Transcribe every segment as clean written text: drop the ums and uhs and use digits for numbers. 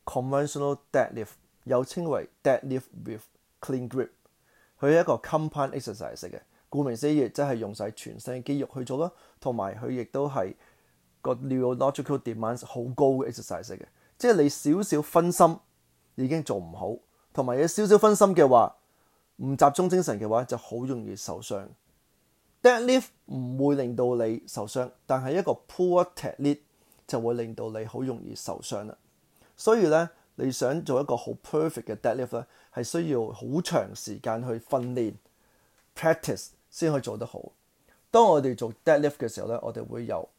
conventional deadlift， 又稱為 deadlift with clean grip。佢係一個 compound exercise 嚟嘅，顧名思義，即係用晒全身嘅肌肉去做啦，同埋佢亦都係個 neurological demands 好高嘅 exercise 嚟嘅，即係你少少分心已經做唔好，同埋有少少分心嘅話，唔集中精神嘅話就好容易受傷。Deadlift 唔會令到你受傷，但係一個 poor technique 就會令到你好容易受傷啦。所以咧，你想做一個好 perfect 嘅 deadlift 咧，係需要好長時間去訓練 practice 先可以做得好。當我哋做 deadlift 嘅時候咧，我哋會由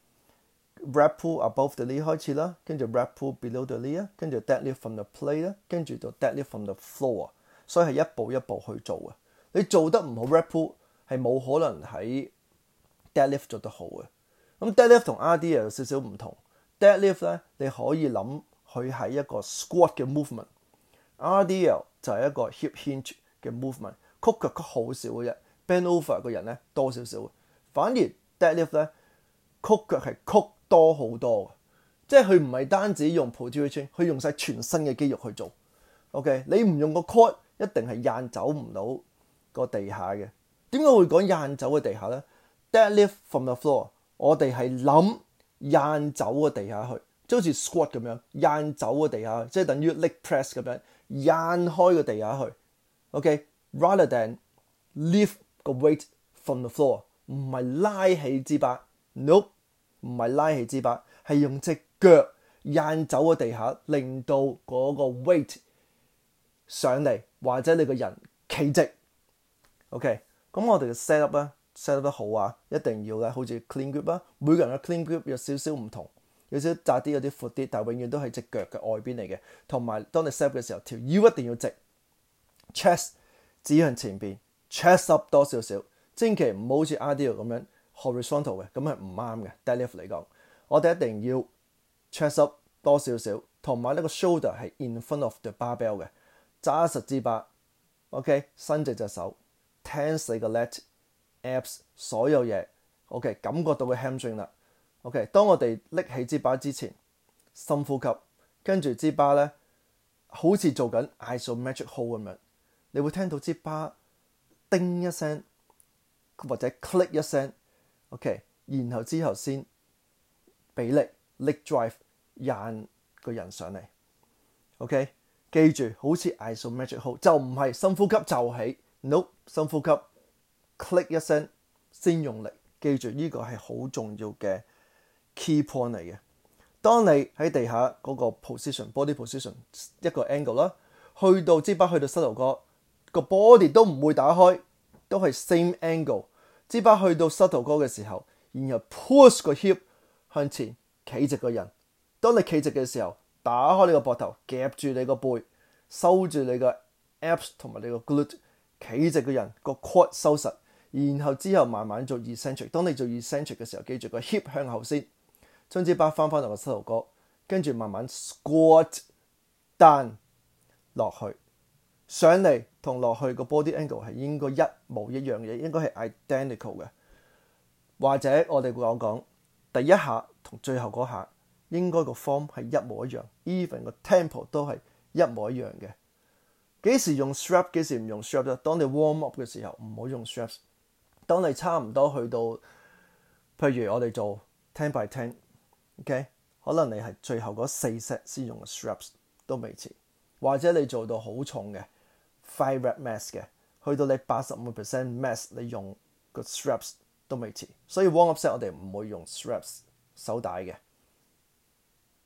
rep pull above the knee 開始啦，跟住 rep pull below the knee 啦，跟住 deadlift from the plate 啦，跟住到 deadlift from the floor。所以係一步一步去做嘅。你做得唔好 rep pull 係冇可能喺 deadlift 做得好嘅。咁 deadlift 同 RDL 有少少唔同。deadlift 咧，你可以諗佢係一個 squat 嘅 movement，RDL 就係一個 hip hinge 嘅 movement， 曲腳曲好少嘅啫 ，bend over 個人咧多少少。反而 deadlift 咧，曲腳係曲多好多嘅，即係佢唔係單止用 posterior， 佢用晒全身嘅肌肉去做。OK， 你唔用個 core 一定係硬走唔到個地下嘅。點解會講硬走嘅地下咧 ？Deadlift from the floor， 我哋係諗硬走個地下去，即好似 squat 咁樣，硬走個地下去，即係等於 leg press 咁樣，硬開個地下去。OK，rather than lift 個 weight from the floor， 唔係拉起支巴 ，nope， 唔係拉起支巴，係用隻腳硬走個地下，令到嗰個 weight 上嚟，或者你個人企直。OK， 咁我哋嘅 set up 咧 set up 得好啊，一定要咧好似 clean grip 啦。每個人嘅 clean grip 有少少唔同，有少窄啲，有啲闊啲，但係永遠都係隻腳嘅外邊嚟嘅。同埋當你 set up 嘅時候，條腰一定要直 ，chest 指向前邊 ，chest up 多少少，千祈唔好好似 RDL 咁樣 horizontal 嘅，咁係唔啱嘅。deadlift 嚟講，我哋一定要 chest up 多少少，同埋呢個 shoulder 係 in front of the barbell 嘅。揸實支巴 ，OK， 伸直隻手 ，tense 你個 lat、abs 所有嘢 ，OK， 感覺到個 hamstring 啦 ，OK。當我哋拎起支巴之前，深呼吸，跟住支巴咧，好似做緊 isometric hold 咁樣，你會聽到支巴叮一聲，或者 click 一聲 ，OK， 然後之後先俾力 leg drive 引個人上嚟 ，OK。記住，好似 isometric hold 就唔係深呼吸就起 ，no， 深呼吸 click 一聲先用力。記住呢個係好重要嘅 key point 嚟嘅。當你喺地下嗰個 body position 一個 angle 啦，去到支巴去到膝頭哥個 body 都唔會打開，都係 same angle。支巴去到膝頭哥嘅時候，然後 push 個 hip 向前企直個人。當你企直嘅時候，打開你個膊頭，夾住你個背，收住你個 abs 同埋你個 glute， 企直個人，個 quad 收實，然後之後慢慢做 eccentric。當你做 eccentric 嘅時候，記住個 hip 向後先，將支巴翻到個膝頭哥，跟住慢慢 squat down 落去，上嚟同落去個 body angle 係應該一模一樣嘅，應該係 identical 嘅。或者我哋會講第一下同最後嗰下。應該個 form 係一模一樣 ，even 個 tempo 都係一模一樣嘅。幾時用 strap， 幾時唔用 strap 咧？當你 warm up 嘅時候唔好用 straps。當你差唔多去到，譬如我哋做 10 by 10，OK， 可能你係最後嗰4 set 先用 straps 都未遲。或者你做到好重嘅 5 rep max 嘅，去到你 85% max 你用個 straps 都未遲。所以 warm up set 我哋唔會用 straps 手帶嘅。